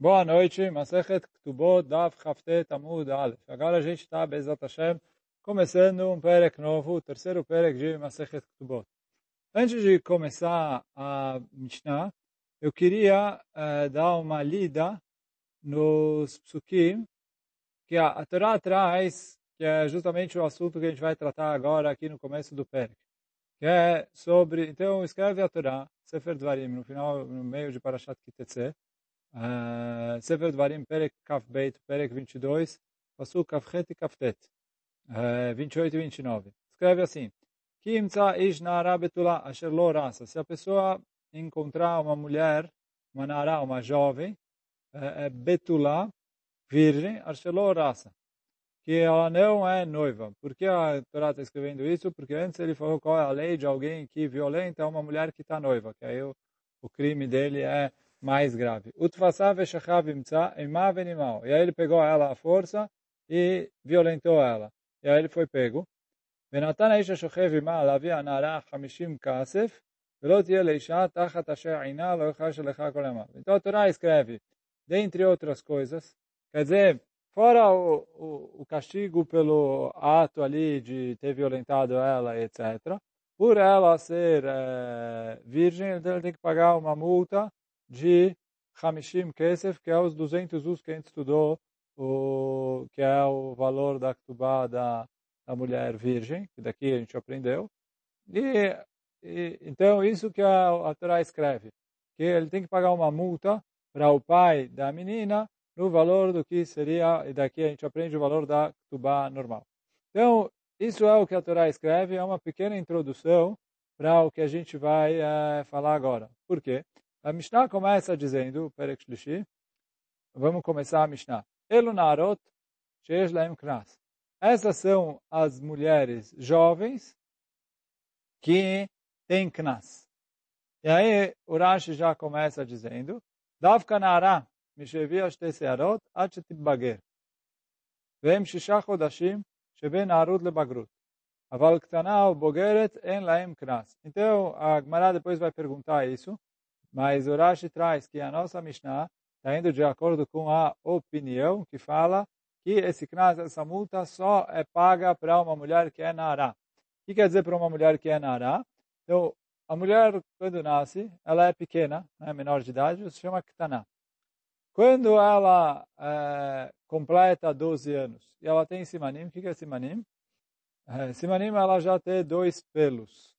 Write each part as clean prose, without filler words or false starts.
Boa noite, Masechet Ketubot, Daf Chaftet Amud Aleph. Agora a gente está, Bezat Hashem, começando um perek novo, o terceiro perek de Masechet Ketubot. Antes de começar a Mishnah, eu queria dar uma lida nos psukim que a Torá traz, que é justamente o assunto que a gente vai tratar agora aqui no começo do perek. Que é sobre, então escreve a Torá, Sefer Dvarim, no final, no meio de Parashat Ki-Tetzeh, Sefer Dvarim, Perek Kaf Beit, Perek 22, Pasuk Kafchet e Kaftet, 28 e 29. Escreve assim: Ki imtza ish na'ara betula asher lo rasa. Se a pessoa encontrar uma mulher, uma na'ara, uma jovem, betula, virgem, asher lo rasa, que ela não é noiva. Por que a Torá está escrevendo isso? Porque antes ele falou qual é a lei de alguém que violenta uma mulher que está noiva, que aí o crime dele é mais grave. E aí ele pegou ela à força e violentou ela. E aí ele foi pego. Então a Torá escreve, dentre outras coisas, quer dizer, fora o castigo pelo ato ali de ter violentado ela, etc., por ela ser virgem, ele tem que pagar uma multa de Hamishim Kesef, que é os 200 us que a gente estudou, que é o valor da Ktubá da mulher virgem, que daqui a gente aprendeu. Então, isso que a Torá escreve, que ele tem que pagar uma multa para o pai da menina no valor do que seria, e daqui a gente aprende o valor da Ktubá normal. Então, isso é o que a Torá escreve, é uma pequena introdução para o que a gente vai falar agora. Por quê? A Mishnah começa dizendo, Perek Shlishi, vamos começar a Mishnah. Elu narot sheyesh lahem knas. Essas são as mulheres jovens que têm knas. E aí o Rashi já começa dizendo, Davka nara mishevi ashte searot ad shetitbager. Vem shisha chodashim sheben narut lebagrut. Aval ktana ou bogeret en lahem knas. Então a Gemara depois vai perguntar isso, mas o Rashi traz que a nossa Mishnah está indo de acordo com a opinião que fala que esse knas, essa multa, só é paga para uma mulher que é nará. O que quer dizer para uma mulher que é nará? Então, a mulher, quando nasce, ela é pequena, né, menor de idade, se chama ktaná. Quando ela completa 12 anos e ela tem simanim, o que é simanim? Simanim, ela já tem 2 pelos.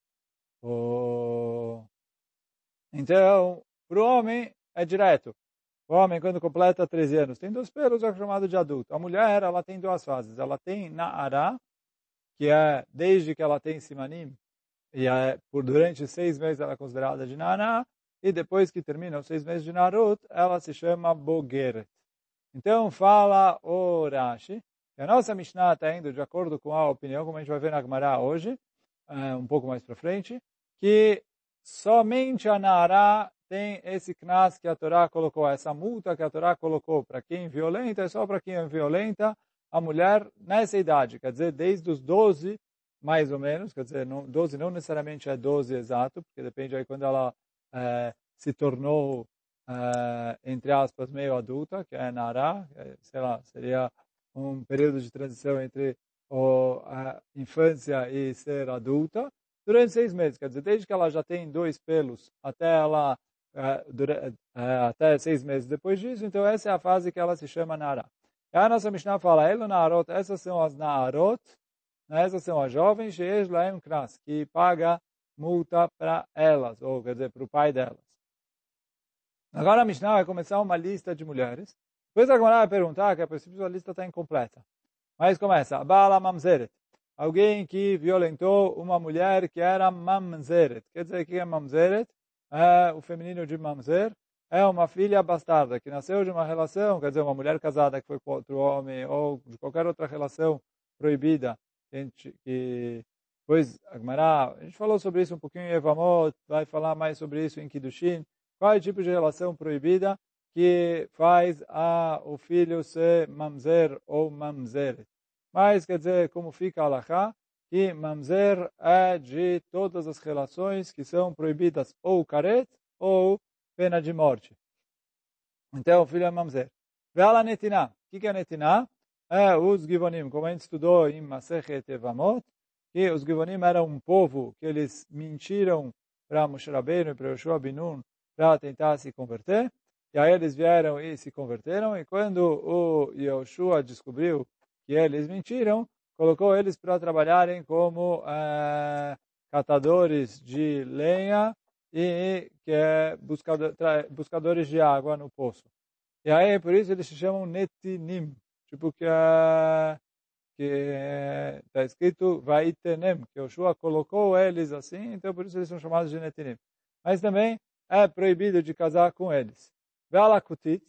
Então, para o homem, é direto. O homem, quando completa 13 anos, tem 2 pelos, é chamado de adulto. A mulher, ela tem 2 fases. Ela tem Na'ara, que é desde que ela tem Simanim, e durante 6 meses ela é considerada de Na'ara, e depois que termina os 6 meses de Narut, ela se chama Bogeret. Então, fala o Rashi, que a nossa Mishnah está indo de acordo com a opinião, como a gente vai ver na Gemara hoje, um pouco mais para frente, que somente a Na'ara tem esse knas que a Torá colocou, essa multa que a Torá colocou para quem violenta, é só para quem é violenta a mulher nessa idade, quer dizer, desde os 12, mais ou menos, quer dizer, 12 não necessariamente é 12 exato, porque depende aí quando ela se tornou, entre aspas, meio adulta, que é Nara, sei lá, seria um período de transição entre a infância e ser adulta, durante 6 meses, quer dizer, desde que ela já tem 2 pelos até ela até 6 meses depois disso, então essa é a fase que ela se chama Nara. E a nossa Mishnah fala, Elo Naarot, essas são as Naarot, essas são as jovens, Sheish Laem Knas, que paga multa para elas, ou quer dizer, para o pai delas. Agora a Mishnah vai começar uma lista de mulheres. Depois a Gemara vai perguntar, que a princípio a lista está incompleta. Mas começa, Bala Mamzeret, alguém que violentou uma mulher que era Mamzeret. Quer dizer, o que é Mamzeret? É o feminino de Mamzer. É uma filha bastarda, que nasceu de uma relação, quer dizer, uma mulher casada que foi com outro homem, ou de qualquer outra relação proibida. Pois, a gente falou sobre isso um pouquinho em Evamot, vai falar mais sobre isso em Kiddushin. Qual é o tipo de relação proibida que faz o filho ser mamzer ou mamzeret? Mas, quer dizer, como fica a halakha, que mamzer é de todas as relações que são proibidas ou caret ou pena de morte. Então, o filho é mamzer. Ve'ala netiná. O que é netiná? É os Givonim, como a gente estudou em Masechet Evamot, que os Givonim eram um povo que eles mentiram para Moshe Rabbeinu e para Yoshua bin Nun para tentar se converter. E aí eles vieram e se converteram. E quando o Yoshua descobriu que eles mentiram, colocou eles para trabalharem como catadores de lenha e que é buscadores de água no poço. E aí, por isso, eles se chamam netinim. Tipo que está escrito vaitenem, que Yoshua colocou eles assim, então por isso eles são chamados de netinim. Mas também é proibido de casar com eles. Ve'ala kutit,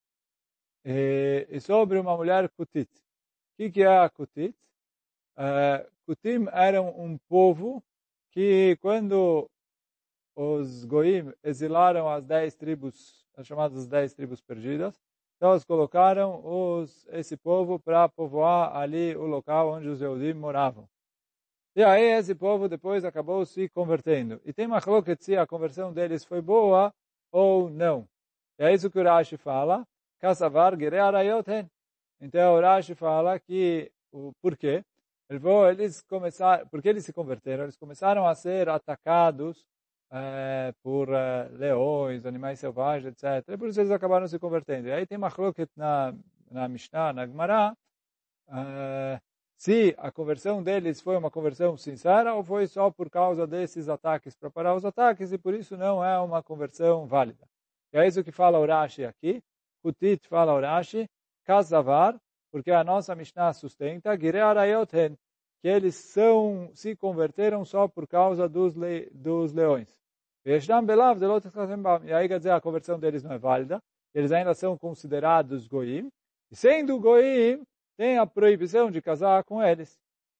e sobre uma mulher kutit. O que é a kutit? Kutim eram um povo que quando os goim exilaram as 10 tribos, as chamadas 10 tribos perdidas, então eles colocaram esse povo para povoar ali o local onde os Yehudim moravam. E aí esse povo depois acabou se convertendo. E tem machloket se a conversão deles foi boa ou não. E é isso que o Rashi fala, Kassavar gerei arayot hen. Então o Rashi fala que, por quê? Eles começaram, porque eles se converteram, eles começaram a ser atacados por leões, animais selvagens, etc. E por isso eles acabaram se convertendo. E aí tem machloket na Mishnah, na Gemara, se a conversão deles foi uma conversão sincera ou foi só por causa desses ataques, para parar os ataques, e por isso não é uma conversão válida. E é isso que fala o Rashi aqui. Kutit fala o Rashi, Kazavar, porque a nossa Mishnah sustenta, Girei Arayot Hen, que eles se converteram só por causa dos leões. E aí quer dizer, a conversão deles não é válida, eles ainda são considerados goim, e sendo goim, tem a proibição de casar com eles.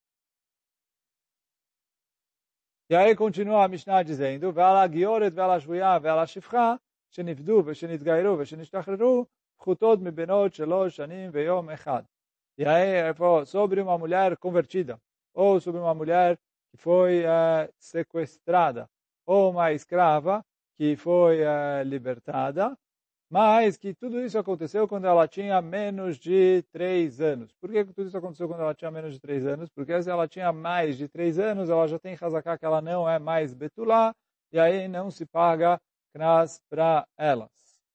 E aí continua a Mishnah dizendo, Ve'ala gioret, ve'ala shvuya, ve'ala shifcha, shenifdu, ve'shenitgairu, ve'shenishtacheru, pchutod mibenot shelosh shanim ve'yom echad. E aí, sobre uma mulher convertida, ou sobre uma mulher que foi sequestrada, ou uma escrava que foi libertada, mas que tudo isso aconteceu quando ela tinha menos de 3 anos. Por que tudo isso aconteceu quando ela tinha menos de 3 anos? Porque se ela tinha mais de 3 anos, ela já tem Hazaká que ela não é mais Betulá, e aí não se paga Knas para elas.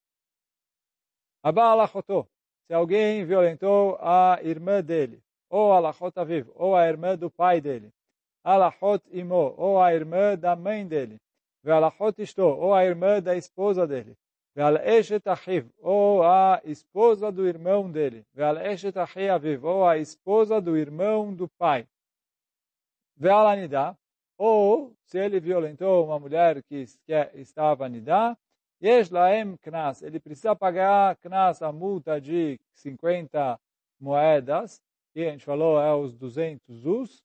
Aba alachotô, se alguém violentou a irmã dele, ou alachot aviv, ou a irmã do pai dele, alachot imo, ou a irmã da mãe dele, ve'alachot ishto, ou a irmã da esposa dele, ve'al eshet achiv, ou a esposa do irmão dele, ve'al eshet achi aviv, ou a esposa do irmão do pai, ve'al anidá, ou se ele violentou uma mulher que estava anidá, Yesh laem knas, ele precisa pagar knas, a multa de 50 moedas, que a gente falou é os 200 zuz,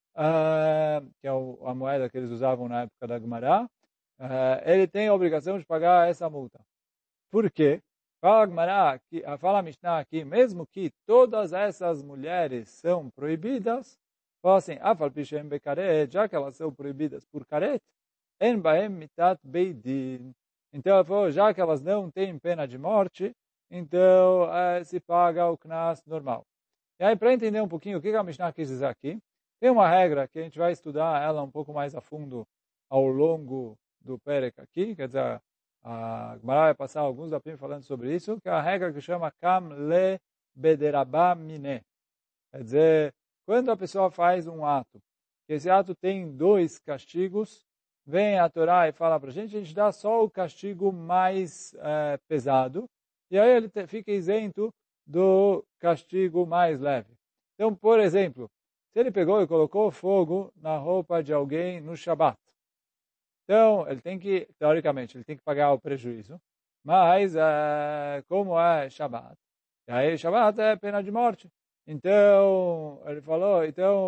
que é a moeda que eles usavam na época da Gemara. Ele tem a obrigação de pagar essa multa. Por quê? Fala a Gemara, fala a Mishnah aqui, mesmo que todas essas mulheres são proibidas, fala assim, afal pishem bekaret, já que elas são proibidas por karet, en baem mitat beidin. Então, já que elas não têm pena de morte, então se paga o knas normal. E aí, para entender um pouquinho o que a Mishnah quis dizer aqui, tem uma regra que a gente vai estudar ela um pouco mais a fundo ao longo do Perek aqui, quer dizer, a Gemara vai passar alguns dapim falando sobre isso, que é a regra que chama Kam le bederabá mine. Quer dizer, quando a pessoa faz um ato, que esse ato tem 2 castigos, vem a Torá e fala para a gente dá só o castigo mais pesado, e aí ele fica isento do castigo mais leve. Então, por exemplo, se ele pegou e colocou fogo na roupa de alguém no Shabat, então ele tem que, teoricamente, ele tem que pagar o prejuízo, mas como é Shabat, e aí Shabat é pena de morte. Então, ele falou,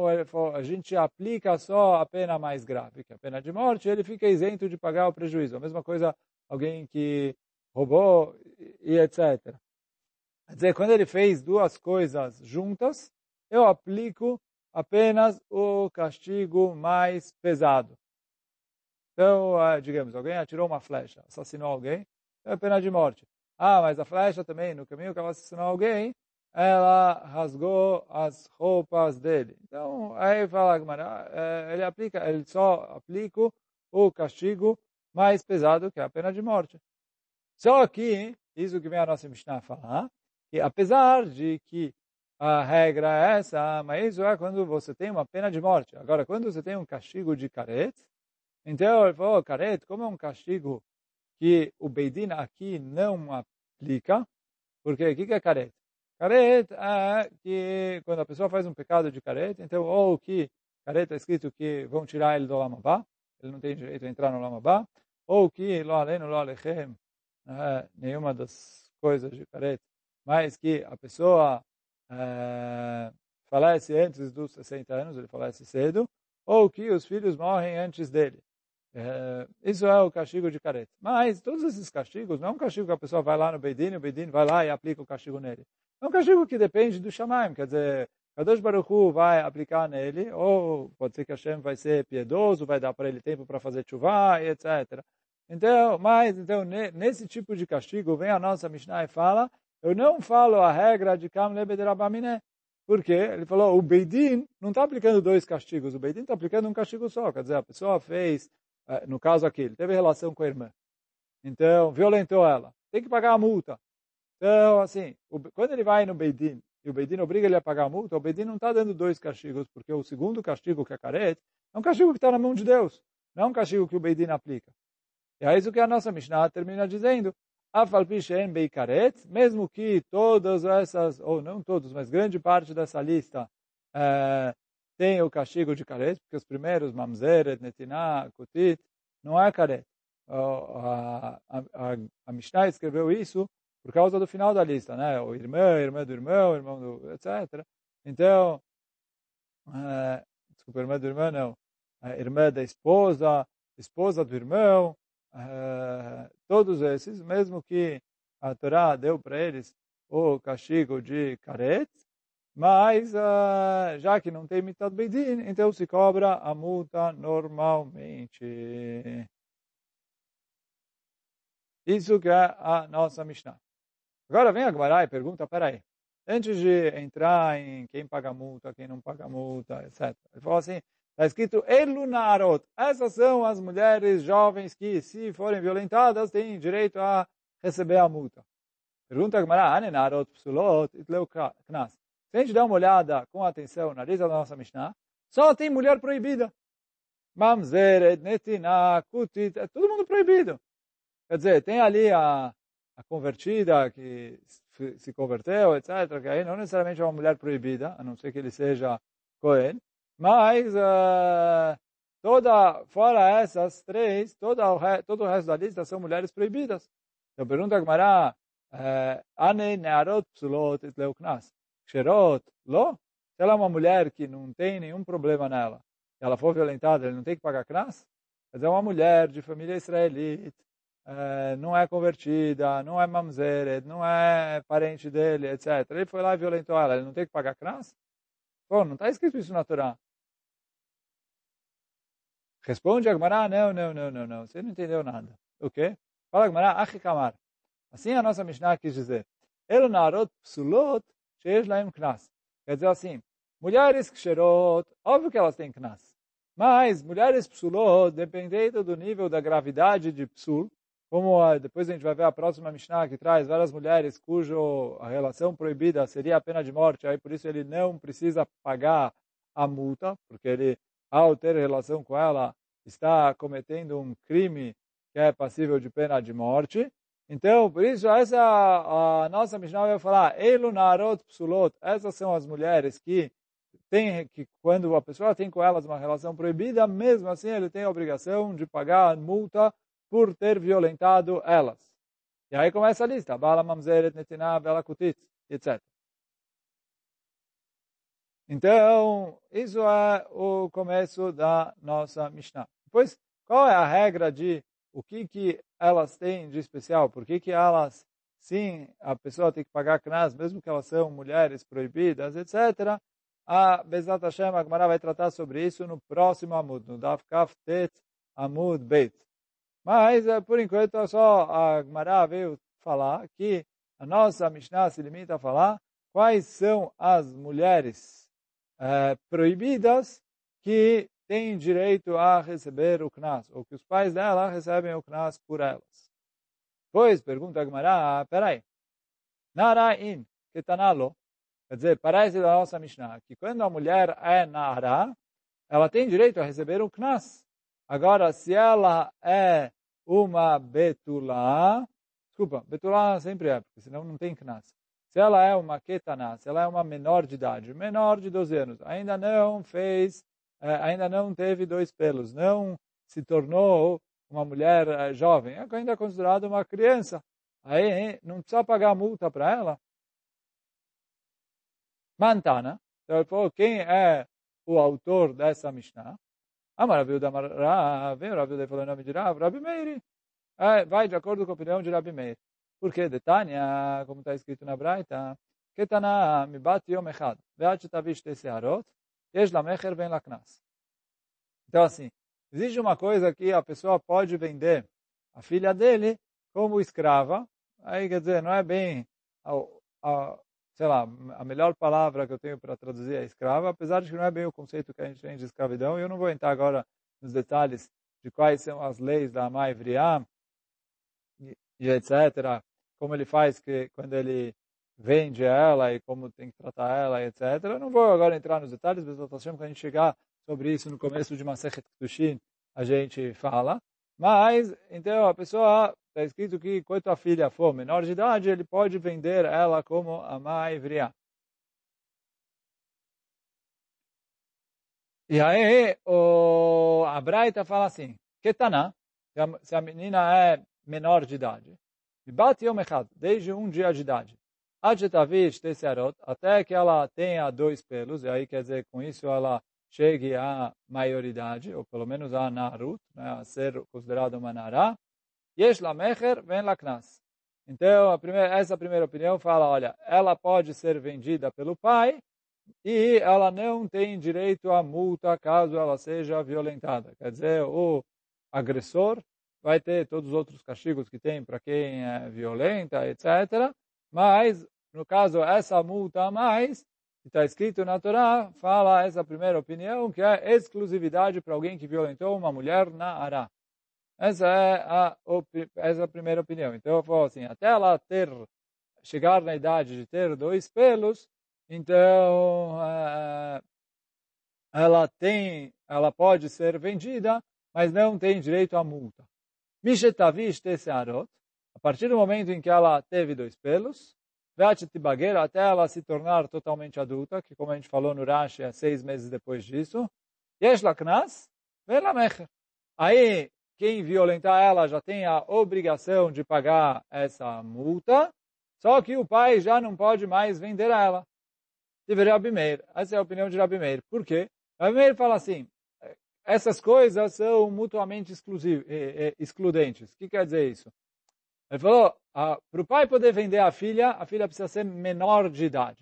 a gente aplica só a pena mais grave, que é a pena de morte, ele fica isento de pagar o prejuízo. A mesma coisa, alguém que roubou e etc. Quer dizer, quando ele fez 2 coisas juntas, eu aplico apenas o castigo mais pesado. Então, digamos, alguém atirou uma flecha, assassinou alguém, é pena de morte. mas a flecha também, no caminho que ela assassinou alguém, ela rasgou as roupas dele. Então, aí fala Gemara, ele só aplica o castigo mais pesado, que é a pena de morte. Só que, isso que vem a nossa Mishnah falar, que apesar de que a regra é essa, mas isso é quando você tem uma pena de morte. Agora, quando você tem um castigo de caret, então ele falou, caret, como é um castigo que o Beidin aqui não aplica, porque o que é caret? Caret é que quando a pessoa faz um pecado de caret, então, ou que caret está escrito que vão tirar ele do Lamabá, ele não tem direito a entrar no Lamabá, ou que lo aleno, lo alechem, nenhuma das coisas de caret, mas que a pessoa falece antes dos 60 anos, ele falece cedo, ou que os filhos morrem antes dele. Isso é o castigo de caret. Mas todos esses castigos não é um castigo que a pessoa vai lá no Beidin, o Beidin vai lá e aplica o castigo nele. É um castigo que depende do Shamaim, quer dizer, Kadosh Baruch Hu vai aplicar nele, ou pode ser que Hashem vai ser piedoso, vai dar para ele tempo para fazer chuva, etc. Então, nesse tipo de castigo, vem a nossa Mishnah e fala, eu não falo a regra de Kam Lebed Rabaminé. Por quê? Ele falou, o Beidin não está aplicando dois castigos, o Beidin está aplicando um castigo só. Quer dizer, a pessoa fez, no caso aqui, ele teve relação com a irmã. Então, violentou ela. Tem que pagar a multa. Então, assim, quando ele vai no Beidin, e o Beidin obriga ele a pagar a multa, o Beidin não está dando dois castigos, porque o segundo castigo, que é caret, é um castigo que está na mão de Deus. Não é um castigo que o Beidin aplica. E é isso que a nossa Mishnah termina dizendo. Mesmo que todas essas, ou não todos, mas grande parte dessa lista tem o castigo de caret, porque os primeiros, mamzeret, netinah, kutit, não é caret. A Mishnah escreveu isso por causa do final da lista, né? O irmã do irmão do, etc. Então, desculpa, irmã do irmão não, a irmã da esposa do irmão, todos esses, mesmo que a Torá deu para eles o castigo de caret, mas já que não tem mitad beidin, então se cobra a multa normalmente. Isso que é a nossa Mishnah. Agora vem a Gemara e pergunta, peraí, antes de entrar em quem paga multa, quem não paga multa, etc. Ele falou assim, está escrito Elunarot. Essas são as mulheres jovens que, se forem violentadas, têm direito a receber a multa. Pergunta a Gemara, Anenarot psulot itleu knas. Se a gente der uma olhada com atenção na lista da nossa Mishnah, só tem mulher proibida. Mamzeret, netinah, kutit, é todo mundo proibido. Quer dizer, tem ali a convertida que se converteu, etc., que aí não necessariamente é uma mulher proibida, a não ser que ele seja Cohen, mas fora essas três, todo o resto da lista são mulheres proibidas. Então pergunta a Gemara, Ane nearot psulot itleu knas. Xerot, lo? Se ela é uma mulher que não tem nenhum problema nela, se ela for violentada, ele não tem que pagar knas? Mas é uma mulher de família israelita, não é convertida, não é mamzeret, não é parente dele, etc. Ele foi lá e violentou ela, ele não tem que pagar knas? Pô, não está escrito isso na Torá. Responde a Gemara, não, você não entendeu nada. O quê? Fala a Gemara, achikamar. Assim a nossa Mishnah quis dizer, El narot psulot sheish laim knas. Quer dizer assim, mulheres ksherot, óbvio que elas têm knas. Mas mulheres psulot, dependendo do nível da gravidade de psul, como depois a gente vai ver a próxima Mishnah que traz várias mulheres cuja relação proibida seria a pena de morte, aí por isso ele não precisa pagar a multa, porque ele, ao ter relação com ela, está cometendo um crime que é passível de pena de morte. Então, por isso, essa a nossa Mishnah vai falar, Eilu narot psulot, essas são as mulheres que quando a pessoa tem com elas uma relação proibida, mesmo assim ele tem a obrigação de pagar a multa por ter violentado elas. E aí começa a lista, Bala mamzeret netinah bela kutit, etc. Então, isso é o começo da nossa Mishnah. Depois, qual é a regra de o que elas têm de especial? Por que elas, sim, a pessoa tem que pagar knas, mesmo que elas são mulheres proibidas, etc. A Bezat Hashem, a Gemara vai tratar sobre isso no próximo Amud, no Daf Kaf Tet Amud Beit. Mas, por enquanto, só a Gemara veio falar que a nossa Mishnah se limita a falar quais são as mulheres proibidas que têm direito a receber o Knas, ou que os pais dela recebem o Knas por elas. Pois, pergunta a Gemara, peraí, Nara'in, ketanalo, quer dizer, parece da nossa Mishnah, que quando a mulher é Nara, ela tem direito a receber o Knas. Agora, se ela é uma Betulá, desculpa, Betulá sempre é, porque senão não tem Knas. Se ela é uma Ketaná, se ela é uma menor de idade, menor de 12 anos, ainda não teve dois pelos, não se tornou uma mulher jovem, é ainda considerada uma criança. Aí não precisa pagar multa para ela. Mantana, então ele falou, quem é o autor dessa Mishnah? Amar Rav Yehuda, Rav Yehuda falou em nome de Rabi Meir. Vai de acordo com a opinião de Rabi Meir. Porque de Tânia, como está escrito na Braita, Ketana mibat yom echad, ve'ad shetavish te searot, yesh la mecher ven la knas. Então assim, existe uma coisa que a pessoa pode vender a filha dele como escrava. Aí quer dizer, não é bem sei lá, a melhor palavra que eu tenho para traduzir é escrava, apesar de que não é bem o conceito que a gente tem de escravidão. Eu não vou entrar agora nos detalhes de quais são as leis da Amai Vriá e etc. Como ele faz quando ele vende ela e como tem que tratar ela, etc. Eu não vou agora entrar nos detalhes, mas quando a gente chegar sobre isso no começo de Masechet Kedushin, a gente fala. Mas, então, a pessoa, está escrito que, quando a filha for menor de idade, ele pode vender ela como Amai Vriá. E aí, a Braita fala assim, Ketaná, se a menina é menor de idade, desde um dia de idade, até que ela tenha dois pelos, e aí quer dizer, com isso ela chegue à maioridade, ou pelo menos a Narut, né, a ser considerada uma Nará, Yesh la mecher, ven la knas. Então, essa primeira opinião fala, olha, ela pode ser vendida pelo pai e ela não tem direito à multa caso ela seja violentada. Quer dizer, o agressor vai ter todos os outros castigos que tem para quem é violenta, etc. Mas, no caso, essa multa a mais, que está escrito na Torá, fala essa primeira opinião, que é exclusividade para alguém que violentou uma mulher na Ará. Essa é a primeira opinião. Então, eu falo assim, até ela chegar na idade de ter dois pelos, então ela pode ser vendida, mas não tem direito à multa. Mishetavish tesearot, a partir do momento em que ela teve dois pelos, até ela se tornar totalmente adulta, que como a gente falou no Rashi, é 6 meses depois disso, yesh la knas, ven la mecher. Aí, quem violentar ela já tem a obrigação de pagar essa multa, só que o pai já não pode mais vender ela. Tive Rabi Meir. Essa é a opinião de Rabi Meir. Por quê? Rabi Meir fala assim, essas coisas são mutuamente excludentes. O que quer dizer isso? Ele falou, para o pai poder vender a filha precisa ser menor de idade.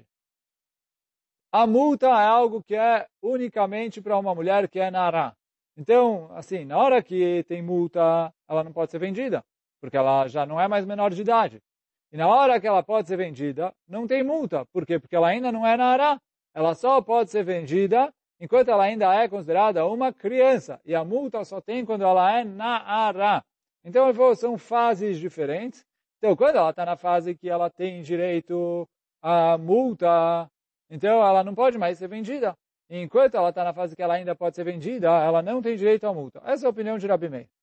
A multa é algo que é unicamente para uma mulher que é nará. Então, assim, na hora que tem multa, ela não pode ser vendida, porque ela já não é mais menor de idade. E na hora que ela pode ser vendida, não tem multa. Por quê? Porque ela ainda não é nará. Ela só pode ser vendida enquanto ela ainda é considerada uma criança. E a multa só tem quando ela é nará. Então, são fases diferentes. Então, quando ela está na fase que ela tem direito à multa, então ela não pode mais ser vendida. Enquanto ela está na fase que ela ainda pode ser vendida, ela não tem direito à multa. Essa é a opinião de Rabi Meir.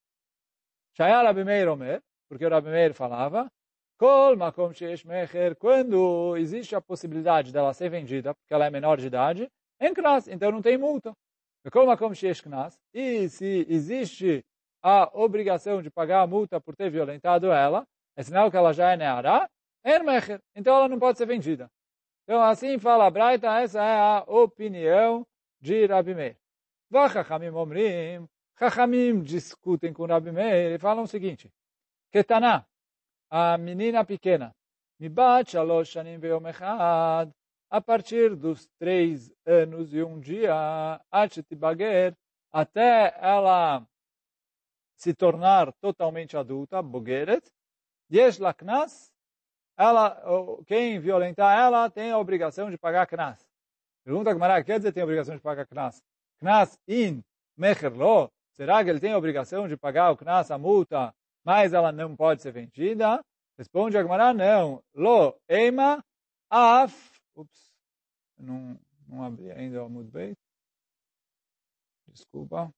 Shaya Rabi Meir Omer, porque o Rabi Meir falava, Kol makom sheyesh mecher, quando existe a possibilidade dela ser vendida, porque ela é menor de idade, em knas, então não tem multa. Kol makom sheyesh knas, e se existe a obrigação de pagar a multa por ter violentado ela, é sinal que ela já é neará, em mecher, então ela não pode ser vendida. Então, assim fala a Braita, essa é a opinião de Rabi Meir. Vachachamim omrim, Chachamim discutem com Rabi Meir e falam o seguinte, Ketaná, a menina pequena, Mibat shalosh shanim veyom echad, a partir dos 3 anos e um dia, Tibager, até ela se tornar totalmente adulta, Bogeret, yesh la knas, ela, quem violentar ela tem a obrigação de pagar knas. Pergunta a Gemara, quer dizer tem a obrigação de pagar knas? Knas in mecher lo? Será que ele tem a obrigação de pagar o knas, a multa, mas ela não pode ser vendida? Responde a Gemara, não. Lo eima af. Ups, não abri ainda o Amud Beit. Desculpa.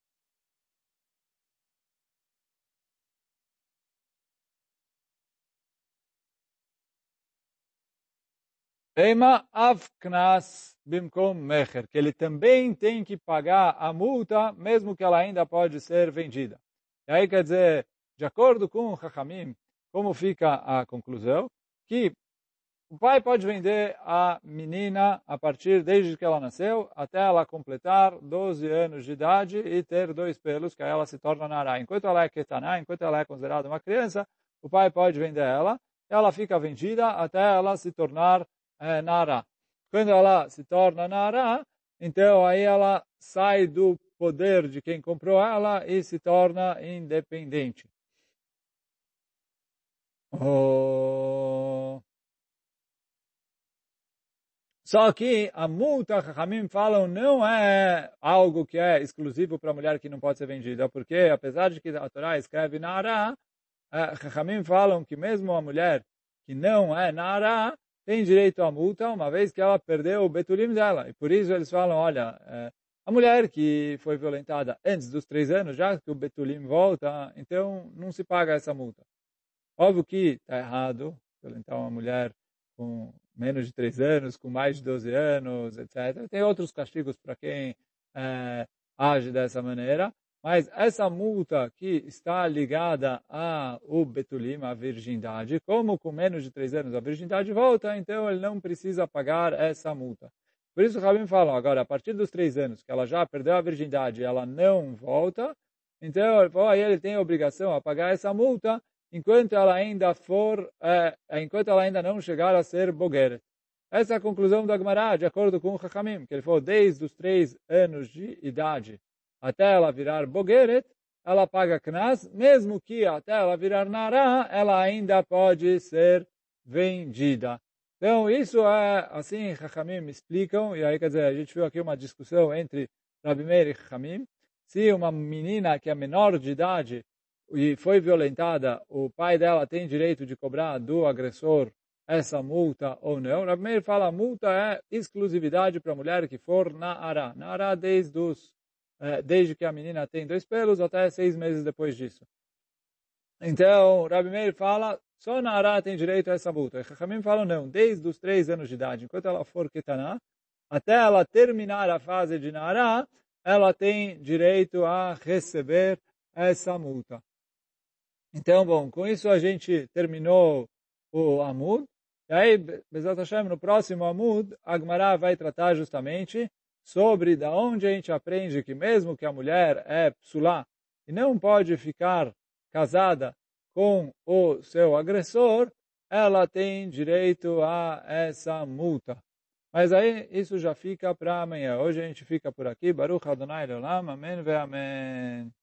Eima av knas bimkom mecher, que ele também tem que pagar a multa, mesmo que ela ainda pode ser vendida. E aí quer dizer, de acordo com o Chachamim, como fica a conclusão? Que o pai pode vender a menina a partir desde que ela nasceu até ela completar 12 anos de idade e ter 2 pelos, que aí ela se torna nará. Enquanto ela é ketaná, enquanto ela é considerada uma criança, o pai pode vender ela fica vendida até ela se tornar nará. Quando ela se torna nará, então aí ela sai do poder de quem comprou ela e se torna independente. Só que a multa, Chachamim falam, não é algo que é exclusivo para a mulher que não pode ser vendida, porque apesar de que a Torá escreve Nará, Chachamim falam que mesmo a mulher que não é Nará tem direito à multa, uma vez que ela perdeu o betulim dela. E por isso eles falam, olha, a mulher que foi violentada antes dos 3 anos, já que o betulim volta, então não se paga essa multa. Óbvio que está errado violentar uma mulher com menos de 3 anos, com mais de 12 anos, etc. Tem outros castigos para quem age dessa maneira, mas essa multa que está ligada ao betulim, à virgindade, como com menos de 3 anos a virgindade volta, então ele não precisa pagar essa multa. Por isso o Rabim fala, agora, a partir dos 3 anos, que ela já perdeu a virgindade e ela não volta, então aí ele tem a obrigação a pagar essa multa, enquanto ela ainda não chegar a ser bogeret. Essa é a conclusão da Gemara, de acordo com o Chachamim, que ele falou, desde os 3 anos de idade até ela virar bogeret, ela paga knas, mesmo que até ela virar nará, ela ainda pode ser vendida. Então, isso é, assim, Chachamim explicam, e aí, quer dizer, a gente viu aqui uma discussão entre Rabi Meir e Chachamim, se uma menina que é menor de idade e foi violentada, o pai dela tem direito de cobrar do agressor essa multa ou não. Rabi Meir fala a multa é exclusividade para a mulher que for Na'ará. Na'ará desde que a menina tem 2 pelos até 6 meses depois disso. Então, Rabi Meir fala, só Na'ará tem direito a essa multa. E Chachamim falam não, desde os 3 anos de idade, enquanto ela for Ketaná, até ela terminar a fase de Na'ará, ela tem direito a receber essa multa. Então, bom, com isso a gente terminou o Amud. E aí, Bezat Hashem, no próximo Amud, a Gemara vai tratar justamente sobre da onde a gente aprende que mesmo que a mulher é psulá e não pode ficar casada com o seu agressor, ela tem direito a essa multa. Mas aí, isso já fica para amanhã. Hoje a gente fica por aqui. Baruch Adonai Leolam. Amém ve amém.